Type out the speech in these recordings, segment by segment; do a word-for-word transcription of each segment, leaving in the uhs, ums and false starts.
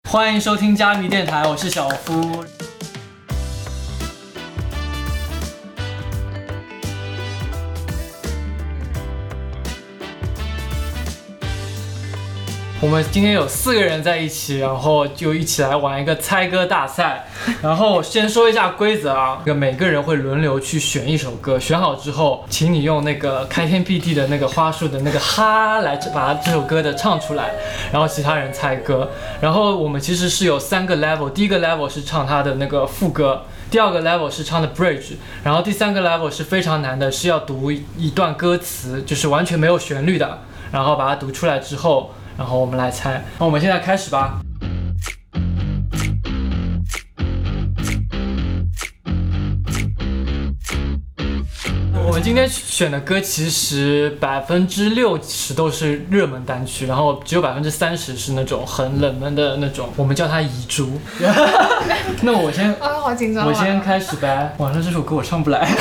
欢迎收听加密电台，我是小夫。我们今天有四个人在一起，然后就一起来玩一个猜歌大赛。然后先说一下规则啊，每个人会轮流去选一首歌，选好之后，请你用那个开天辟地的那个花束的那个哈来把这首歌的唱出来，然后其他人猜歌。然后我们其实是有三个 level， 第一个 level 是唱它的那个副歌，第二个 level 是唱的 bridge， 然后第三个 level 是非常难的，是要读一段歌词，就是完全没有旋律的，然后把它读出来之后。然后我们来猜，那我们现在开始吧。我们今天选的歌其实百分之六十都是热门单曲，然后只有百分之三十是那种很冷门的那种，我们叫它遗珠。那我先， 啊，好紧张！ 我先开始呗。晚上这首歌我唱不来。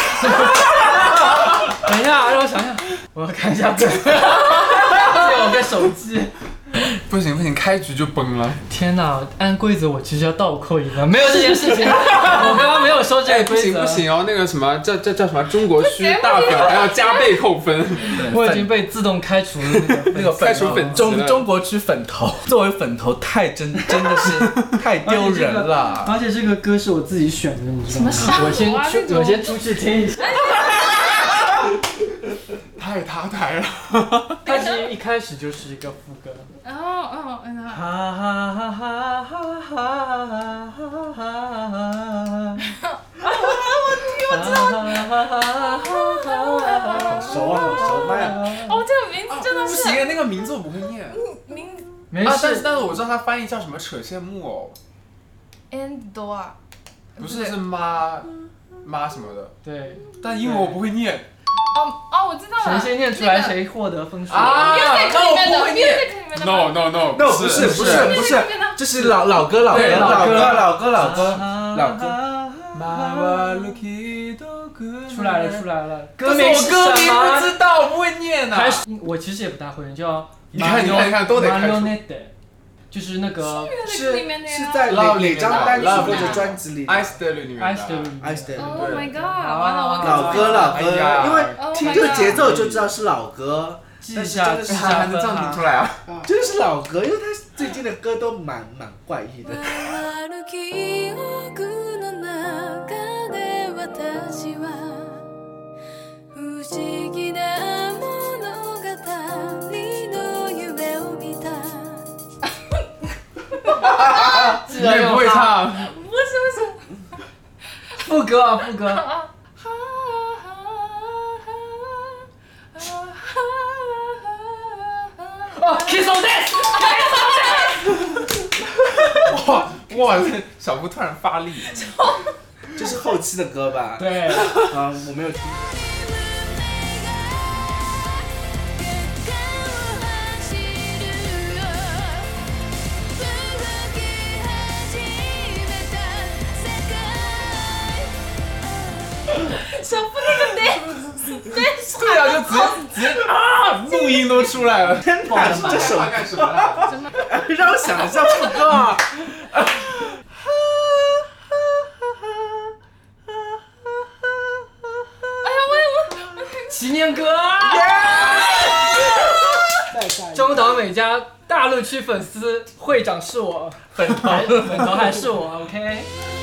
等一下，让我想想，我要看一下歌。借我个手机。 不行不行，开局就崩了！ 天哪，按规则我其实要倒扣一分，没有这件事情，我刚刚没有说这个规则。 不行不行哦，那个什么叫叫叫什么中国区大表还要加倍扣分。 我已经被自动开除了那个那个开除粉中中国区粉头，作为粉头太真真的是太丢人了。 而且这个歌是我自己选的，你知道吗？我先去，我先出去听一下。 太他台了， 它其实一开始就是一个副歌。 哦哦，嗯。 哈哈哈哈哈哈哈哈！ 我听我知道。 好熟啊，好熟麦啊！ 哦，这个名字真的是。 不行，那个名字我不会念。 名。 没事。 啊，但是但是我知道它翻译叫什么扯线木偶。 and 多啊。 不是，是妈妈什么的。 对。 但英文我不会念。 哦哦，我知道了。 谁先念出来谁获得分数啊？ 那我不会念。 No no no no 不是不是不是，这是老老歌老歌老歌老歌老歌老歌。 出来了出来了， 歌名是什么？歌名不知道，我不会念啊。 我其实也不大会，叫你看你看你看都得看。 就是那个是是在哪哪张单曲或者专辑里 ？I Stay 里面的。 I Stay。 I Stay。 Oh my god！ 完了我老歌老歌，因为听这个节奏就知道是老歌。 记一下，记一下， 还能这样听出来啊？ 真的是老歌，因为他最近的歌都蛮蛮怪异的。 你也不会唱？ 不是不是， 副歌啊副歌。哦 ，Kiss on This。 哇哇！小夫突然发力。 这是后期的歌吧？ 对。 啊，我没有听。 小夫那个 dance dance。 对啊，就直接直接啊，录音都出来了。 天哪，这首干什么啦？ 让我想一下副歌啊。 哎呀，我我祈年歌。中岛美嘉大陆区粉丝会长是我，粉头粉头还是我 ，OK。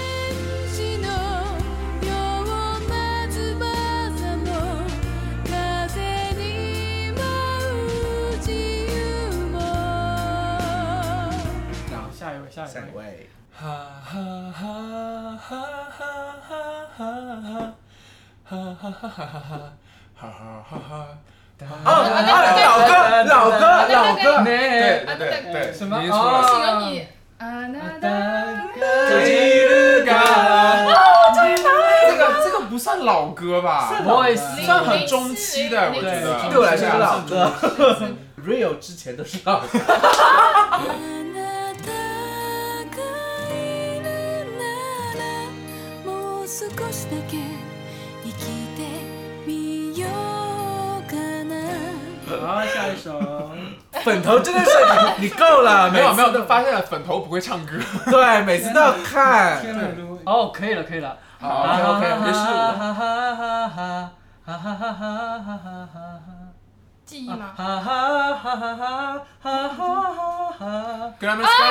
下一位，下一位。哈哈哈哈哈哈哈哈哈哈哈哈哈哈。 哦，老歌，老歌，老歌， 对对对对， 什么？ 哦，有你。啊那的这个这个不算老歌吧？算很中期的，我觉得。 对我来说是老歌。Real 之前都是老歌。 好，下一首。 粉头真的是你你够了， 没有没有， 都发现了粉头不会唱歌。 对，每次都要看。 哦，可以了，可以了。 好 ，OK OK， 没事。 记忆吗？ 跟他们 sky。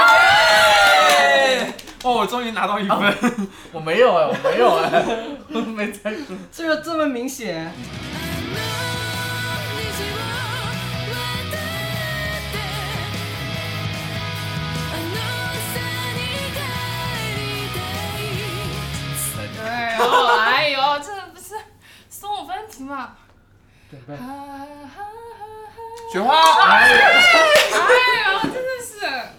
哦，我终于拿到一分。 我没有哎，我没有哎，我没猜出。 这个这么明显。 哎呦，哎呦，这不是送我分题吗？ 准备。 雪花。 哎呦，真的是。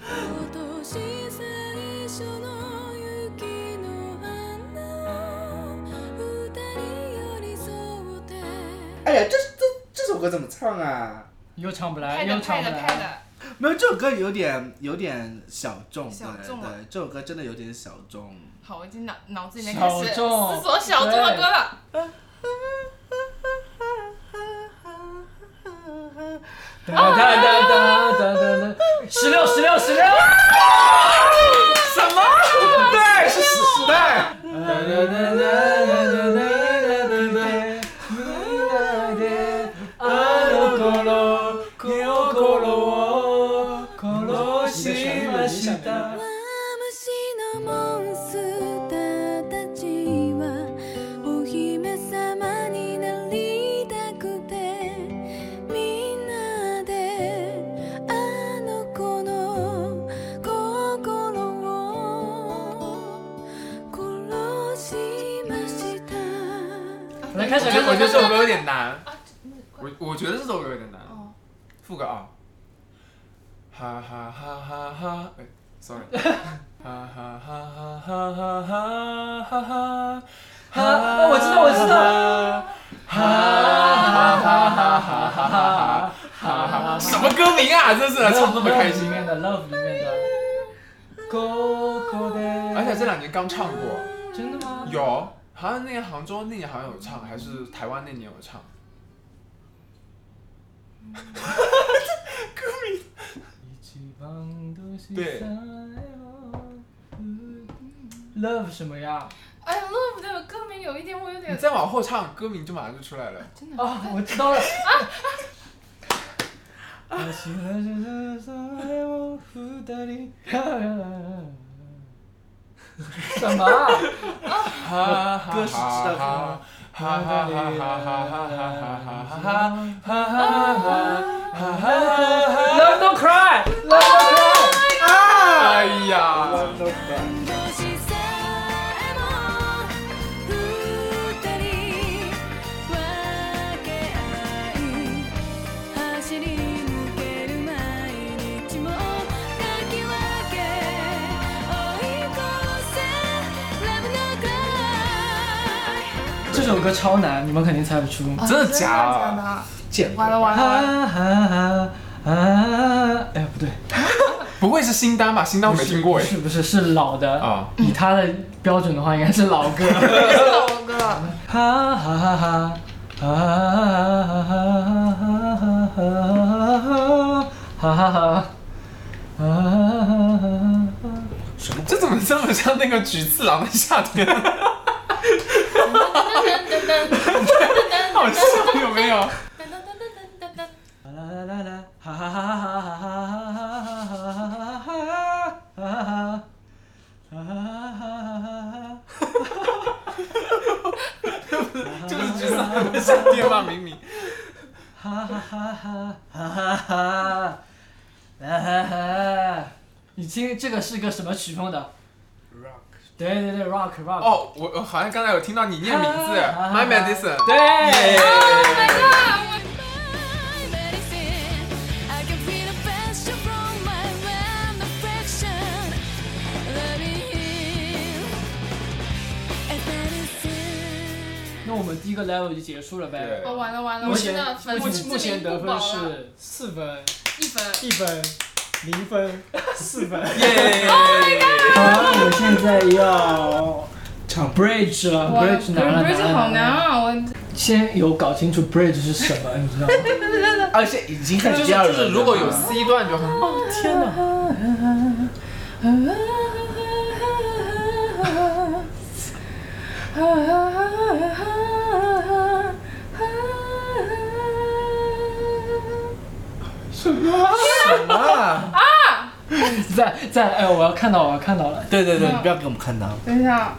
哎呀，这这这首歌怎么唱啊？ 又唱不来， 拍的又唱不拍的拍的来。。 没有，这首歌有点有点小众， 小众啊对对，这首歌真的有点小众。 好，我已经脑脑子里面开始小众思索小众的歌了。 哒哒哒哒哒哒哒，十六十六十六。 什么？ 对，是时代。 来开始， 我觉得我觉得这首歌有点难。我我觉得这首歌有点难。副歌啊。哈哈哈哈哈，哎 ，sorry。哈哈哈哈哈哈哈哈哈。 哈，我知道我知道。 哈哈哈哈哈哈哈哈！什么歌名啊？真是唱那么开心。 里面的 Love 里面的。 而且这两年刚唱过。 真的吗？ 有。好像那年杭州那年好像有唱，还是台湾那年有唱。歌名。对。 Love 什么呀？ 哎呀 ，Love 的歌名有一点我有点。 你再往后唱，歌名就马上就出来了。 真的。 啊，我知道了。啊。什么？ 歌是知道哈哈哈哈哈哈哈哈哈 Love Don't Cry， Love Don't Cry。 哎呀！ 这首歌超难，你们肯定猜不出。 真的假的？ 见完了完了完了！ 哎，不对， 不会是新单吧？新单我没听过哎。 不是不是是老的啊， 以他的标准的话，应该是老歌。 是老歌。 哈哈哈哈哈哈哈哈！ 什么？这怎么这么像那个菊次郎的夏天？好笑有没有？ 啦啦啦啦，哈哈哈哈哈哈哈哈哈！ 就是菊次郎的夏天嘛，明明。 哈哈哈哈哈哈哈哈！你听这个是个什么曲风的 ？Rock。 对对对 ，Rock Rock。 哦，我我好像刚才有听到你念名字 ，My Medicine。 对。 Oh my god！ 那我们第一个 level 就结束了呗。 哦，完了完了， 目前目前目前得分是四分、 一分、 一分、零分、四分。 耶！ 好，我现在要唱 bridge 了 ，bridge 难了难了。 bridge 好难啊！我先有搞清楚 bridge 是什么，你知道吗？ 而且已经开就是始第二轮了。 就是如果有 C 段就很棒。 天哪！ 什么啊？ 在在哎，我要看到，我要看到了。 对对对，你不要给我们看到。 等一下，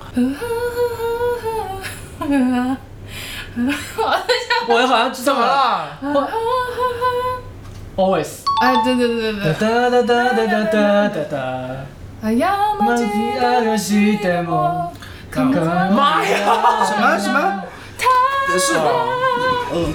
我好像知道怎么了？ Always。 哎，对对对对对， 哒哒哒哒哒哒哒哒。 哎呀， マジ愛しても構わない妈呀！ 什么什么？是嗯。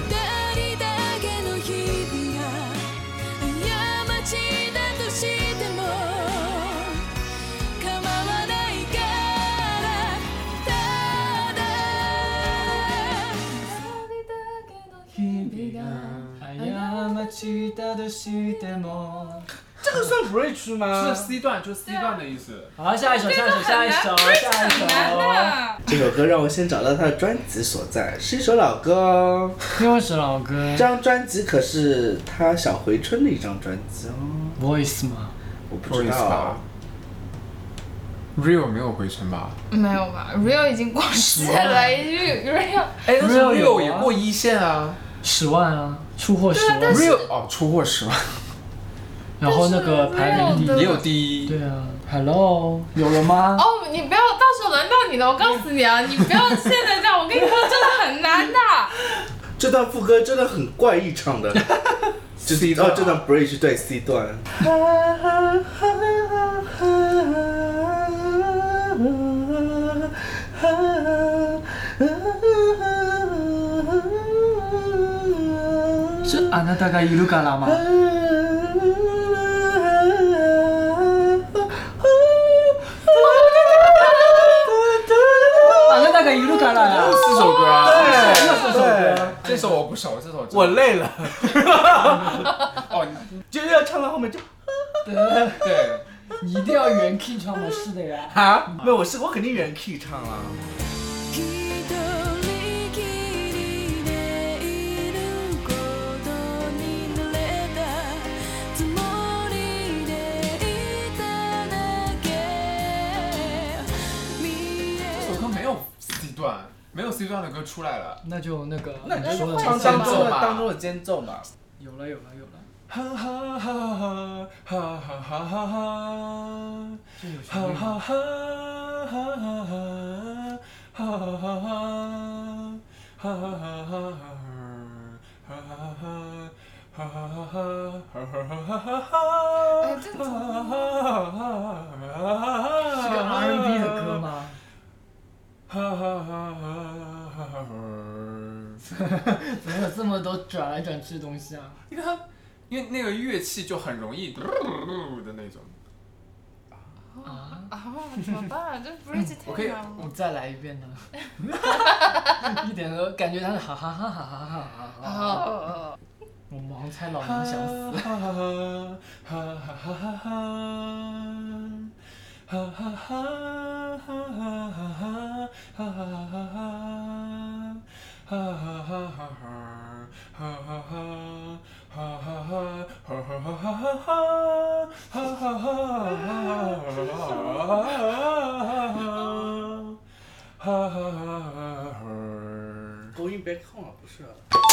这个算 bridge 吗？ 是 C 段，就是 C 段的意思。 好，下一首，下一首，下一首，下一首。 这首歌让我先找到它的专辑所在，是一首老歌哦。 又是老歌。 这张专辑可是他小回春的一张专辑哦。 Voice 吗？ 我不知道。 Real 没有回春吧？ 没有吧 ？Real 已经过世了，Real。 哎，但是 Real 有 Real 也过一线啊。 十万啊，出货十万。 Real 哦，出货十万。 然后那个排名第一也有第一。 对啊 ，Hello， 有了吗？ 哦，你不要，到时候轮到你了，我告诉你啊，你不要现在这样，我跟你说，真的很难的。 这段副歌真的很怪异唱的。就是 C 段哦，这段 bridge 对 C 段。 是あなたがいるから吗？あなたがいるから呀。 有四首歌啊。 对，四首歌。 这首我不熟，这首我累了。 哦， 就是要唱到后面就。 对， 对， 你一定要原 key 唱的，是的呀。 啊？没有，我是我肯定原 key 唱了。 段没有 C 段的歌出来了， 那就那个那你说的唱当中的当中的间奏嘛。 有了有了有了。 哈哈哈哈哈哈哈哈哈， 这有旋律吗？ 哈哈哈哈哈哈哈哈哎，这怎么？ 是个 R and B 的歌吗？怎么有这么多转来转去的东西啊？ 因为它，因为那个乐器就很容易的那种。 啊啊！怎么办？这 bridge 太难了。 我再来一遍呢。一点都感觉他是哈哈哈哈哈哈哈哈。我盲猜老娘想死。 哈哈哈哈哈哈哈。哈哈哈哈哈哈哈哈哈哈哈哈哈哈 Going back home 不是？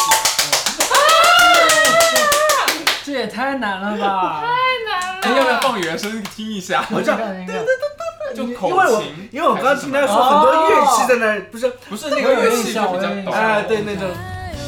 这也太难了吧！ 太难了。 要不要放原声听一下？ 我这样应该。 就口因为我琴， 因为我刚刚听他说很多乐器在那儿，不是不是那个乐器就比较抖。 哎，对那种。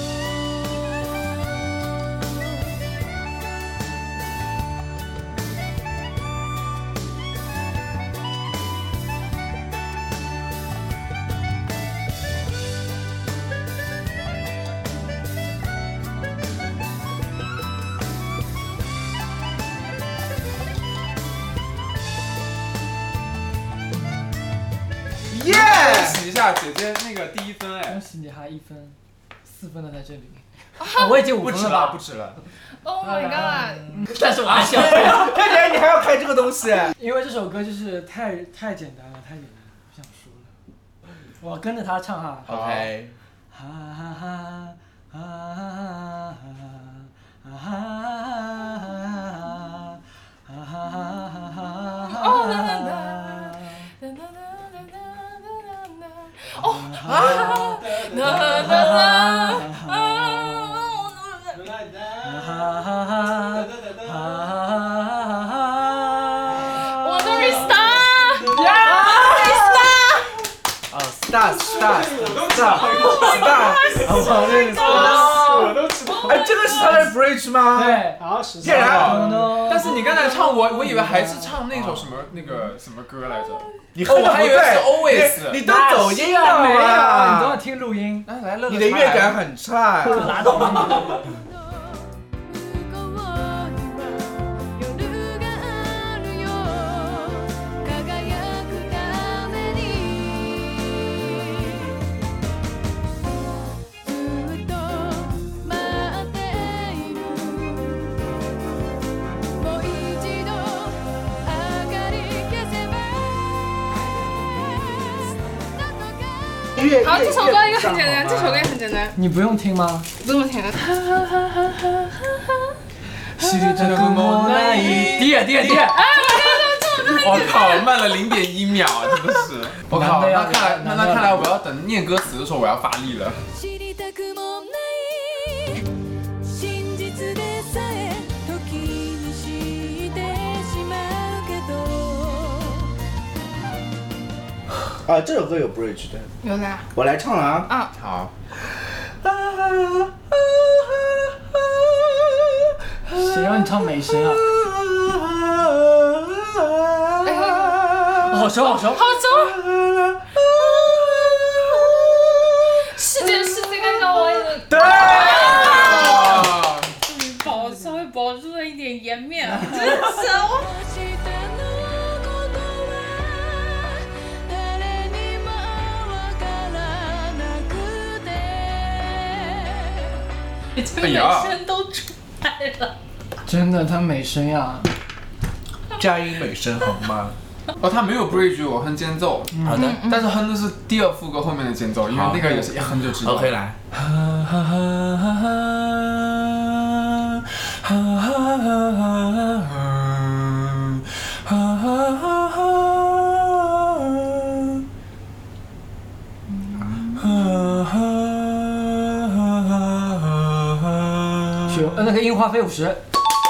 恭喜一下姐姐那个第一分哎！ 恭喜你还一分，四分的在这里。我已经五分了吧？ 不止了。 Oh my god！ 但是我还想， 看起来你还要开这个东西， 因为这首歌就是太太简单了，太简单了，不想说了。我要跟着他唱哈。 OK。 哈哈哈哈哈哈哈哈哦，哒哒哒哒哒哒哒哒。哦啊！哒哒哒啊！我的 star 呀哦 ，star star star star， 我认识我都知道。 哎，这个是他的 bridge 吗？ 对， 好，十竟然但是你刚才唱我，我以为还是唱那首什么那个什么歌来着？ 你哦，我还以为是 always。 你都走音了没有，你都要吗？ 听录音。 来来，乐乐你的乐感很差。 拉倒吧你。 好，这首歌应该很简单，这首歌也很简单， 你不用听吗？ 不用听。 低点低点低点。 我靠，慢了零点一秒，真的是。我靠，那看来那那看来我要等念歌词的时候我要发力了。 啊，这首歌有 bridge 的， 有的。 我来唱了啊。 啊， 好。 谁让你唱美声啊？好熟好熟。 好熟。世界世界该让我也。 对。 终于保稍微保住了一点颜面，真的是我。这美声都出来了， 真的，他美声呀！ 佳音美声好吗？ 哦，他没有 bridge， 我哼间奏。 好的， 但是哼的是第二副歌后面的间奏，因为那个也是一哼就知道。 OK， 来。 呃，那个樱花飞五十。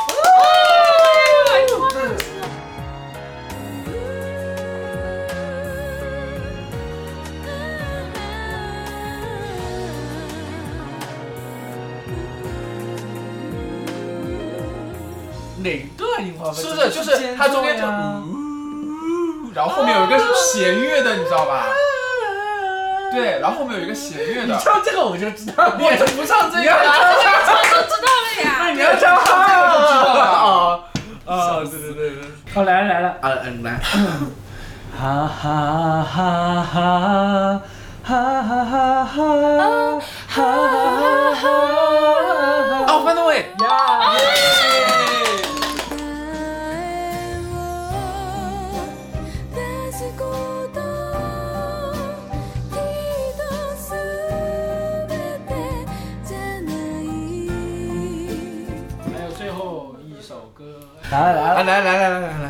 哪段樱花飞？ 是不是？就是它中间就，然后后面有一个弦乐的，你知道吧？对，然后后面有一个弦乐的。 你唱这个我就知道， 我就不唱这个我了。 就知道了呀。 那你要唱哈啊啊！对对对对。 好，来了来了。 啊嗯来。 哈哈哈哈哈哈哈哈哈哈！ 哦，翻到位呀！ 还有最后一首歌，来了来了来来来来来来。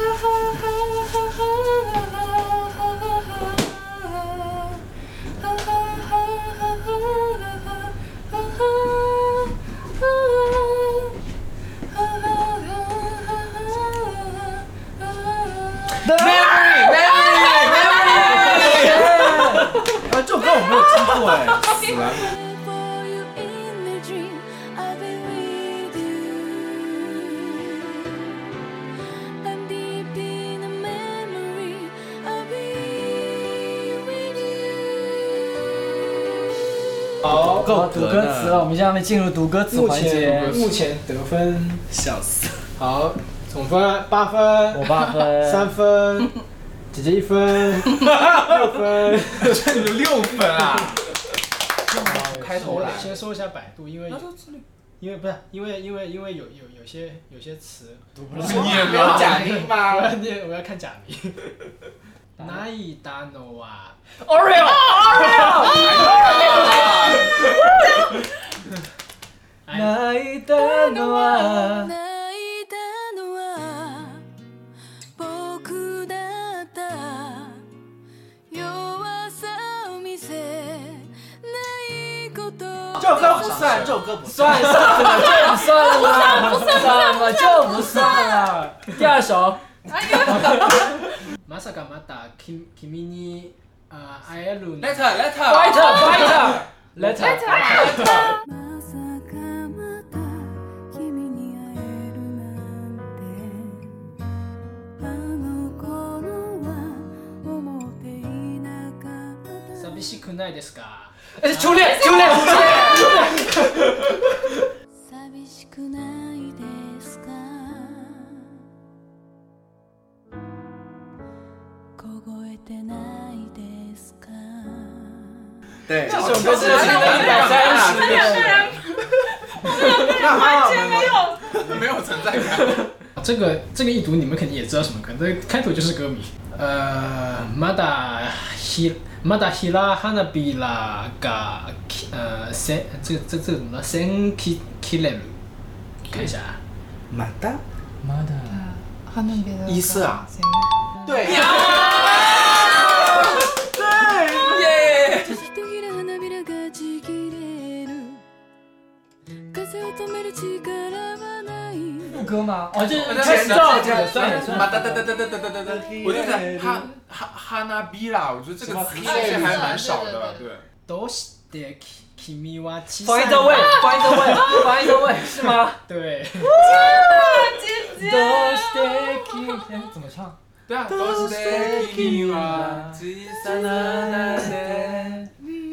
Memory Memory Memory。 啊，这首歌我没有听过哎，死了。 好， 够读歌词了，我们下面进入读歌词目环节前。目前得分笑死。 好，总分八分， 我八分， 三分，姐姐一分，六分， 这有六分啊！ 开头了。先说一下百度，因为因为不是因为因为因为有有有些有些词读不来。 你也没有假音吗？ 我要念，我要看假名。哪一达诺啊 Oreo Oreo。 泣いたのは泣いたのは僕だった弱さを見せないこと这首歌不算，这首歌不算。 算算了，这不算了啦，不算怎么就不算了？第二首， まさかまた君君にあ会える。 Letter letter fighter fighter letter。 まさかまた君に会えるなんてあの頃は思っていなかった寂しくないですか？ 哎，初恋，初恋，初恋，初恋。 寂しくないですか凍えてないですか对， 这首歌真的听了一百三十遍。 完全没有没有存在感。 这个这个一读你们肯定也知道什么歌，这开头就是歌名。呃，まだひまだひら花びらが呃せ这个这这怎么了？先ききれる，看一下啊。 马达妈的， 花びら一色啊，对， 耶！ ひとひら花びらがちぎれる風を止める力はない副歌吗？哦，这我开始了，这个算了算了。 哒哒哒哒哒哒哒哒哒，我就在哈哈哈那比啦，我觉得这个词其实还蛮少的，对。 どうして君は小 Find さ the い way，Find the way，Find the way，是吗？ 对， どうして君？哎，怎么唱？ 对啊，都是的君は小さななで。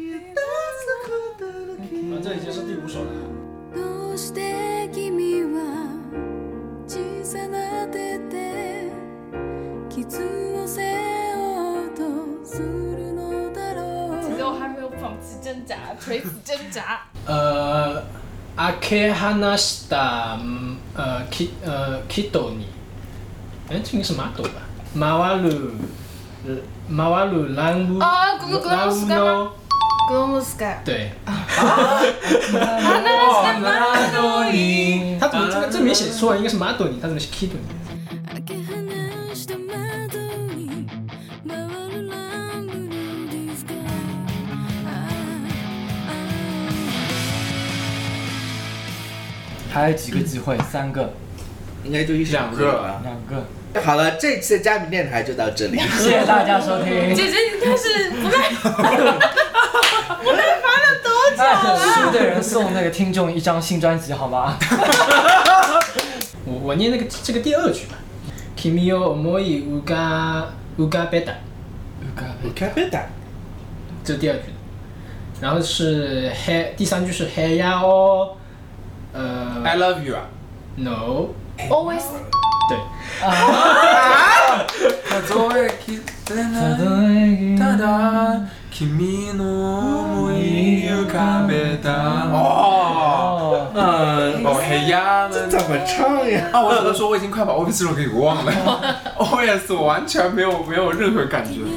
啊，这已经是第五首了。 どうして君は小さな手で傷を背負おうとするのだろう其实我还没有放弃挣扎垂死挣扎呃，開け放した呃き呃人に，哎，这个是马斗吧？回る回る乱舞啊このこの乱舞のグロムスカイ对， 哦，那都你。 他怎么这个这没写错，应该是马斗尼，他怎么是 kid 尼？ 開け放した窓に回る乱舞のディスカイ还有几个机会？三个， 应该就一首歌了。 两个。 好了，这次的嘉宾电台就到这里， 谢谢大家收听。 姐姐你开始不耐不耐烦了多久哎，输的人送那个听众一张新专辑，好吗？ 我我念那个这个第二句吧。君を思い浮か浮かべた， 我看别打。 这是第二句。然后是黑，第三句是黑呀哦，呃 I love you 啊。 ，no， always 对， 数えきれないただ君の想い浮かべた。哦， 嗯， 哦嘿呀， 这怎么唱呀？ 啊，我只能说我已经快把 O P 这首给忘了。O S 我完全没有没有任何感觉。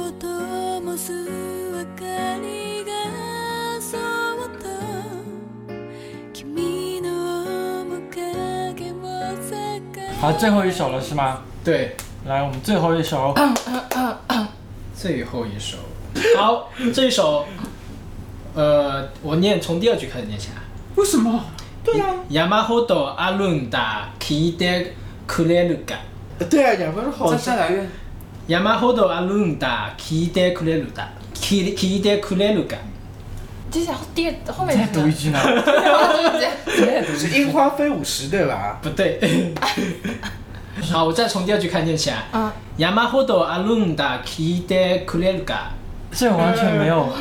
好，最后一首了是吗？ 对， 来，我们最后一首。 最后一首。好，这一首，呃，我念从第二句开始念起来。 为什么？ 对啊， 山ほどあるんだ、聞いてくれるか。 对啊，两分钟好再再来一遍。 山ほどあるんだ、聞いてくれるだ、聞聞いてくれるか。 接下来第二后面再读一句呢？ 是樱花飞舞时对吧？ 不对。好，我再从第二句开始念起来。 嗯。 山ほどあるんだ、聞いてくれるか。 这完全没有。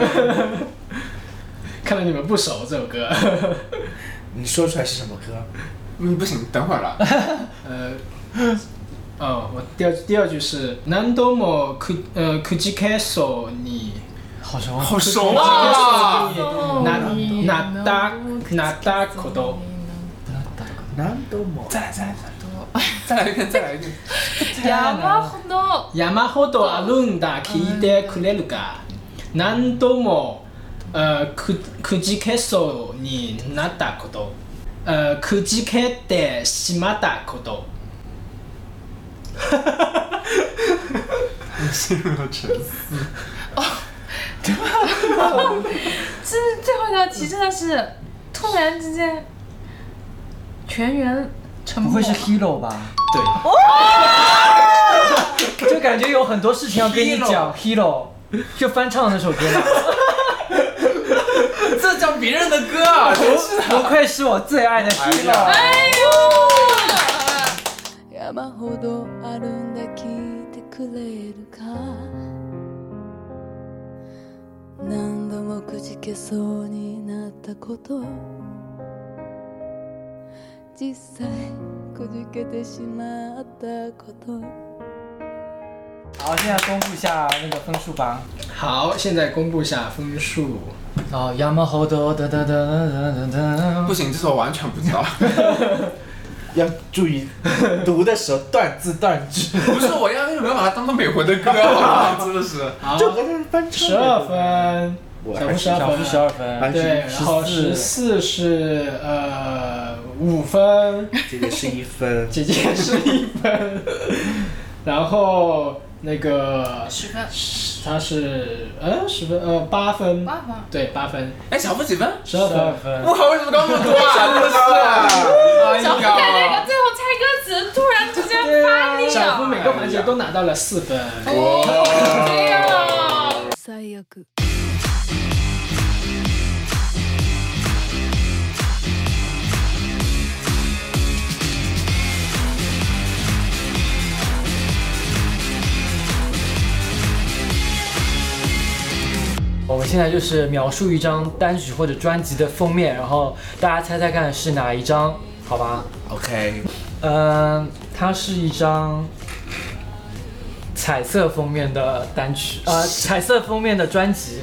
看来你们不熟这首歌。 你说出来是什么歌？ 嗯，不行，等会儿了。 呃，哦，我第二第二句是何度もく呃くじけそうに好熟。 好熟啊！ ななったなったこと。 何度も。 再来再来再来一遍再来一遍。 山ほど山ほどあるんだ、聞いてくれるか。何度も呃くくじけそうになったこと。呃くじけてしまったこと。 陷入了沉思。 哦，这最后一道题真的是突然之间全员沉默。 不会是 Hero 吧？ 对。 就感觉有很多事情要跟你讲 ，Hero 就翻唱那首歌嘛。 这讲别人的歌啊，真是的。 不愧是我最爱的 Hero。 哎呦！ 山ほどあるんだ聞いてくれるか何度もくじけそうになったこと実際くじけてしまったこと好，现在公布一下那个分数吧。 好，现在公布下分数。 哦，山ほど哒哒哒哒哒哒。 不行，这首我完全不知道。 要注意读的时候断字断句。 不是，我压根就没有把它当做美魂的歌，好吧？真的是。 好， 就跟他翻唱。 十二分，小夫十二分， 十二分， 对，然后十四是呃五分， 姐姐是一分， 姐姐是一分，然后那个十分， 他是呃十分呃八分， 八分， 对八分， 哎，小夫几分？ 十二分， 分。 我靠，为什么高那么多啊？真的是啊！ 小夫在那个最后猜歌词突然之间发力了， 小夫每个环节都拿到了四分。 哦，这样。 最悪我们现在就是描述一张单曲或者专辑的封面，然后大家猜猜看是哪一张，好吧 ？OK。 嗯，它是一张彩色封面的单曲，呃，彩色封面的专辑。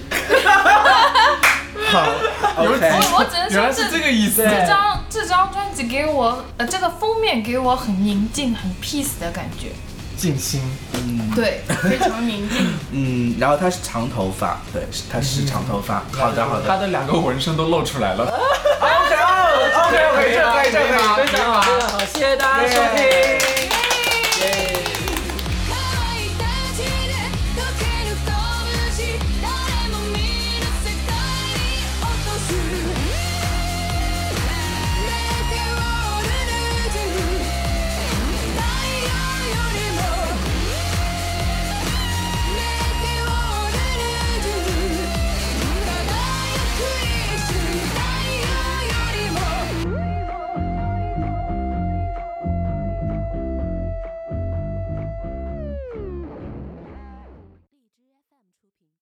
好，OK。 我我只能原来是说这这个意思。 这张这张专辑给我呃这个封面给我很宁静、很 peace 的感觉。 静心， 嗯， 对，非常宁静。 嗯，然后他是长头发，对，他是长头发。好的，好的。 他的两个纹身都露出来了。 OK，OK，OK，这可以，这可以， 非常好，非常好，谢谢大家收听。